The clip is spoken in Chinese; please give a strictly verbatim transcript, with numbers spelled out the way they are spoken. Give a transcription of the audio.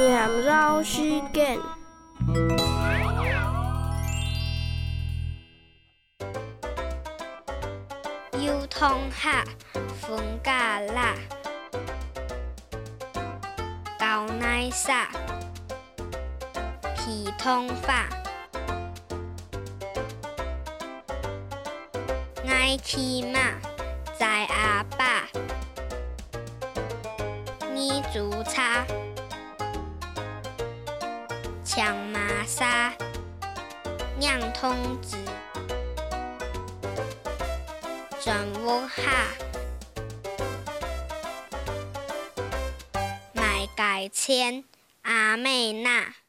念老师间。 幼童下分家啦，高乃撒皮通法，爱骑马在阿爸，你煮茶，抢马沙，酿通子。转屋下，买改签阿妹娜。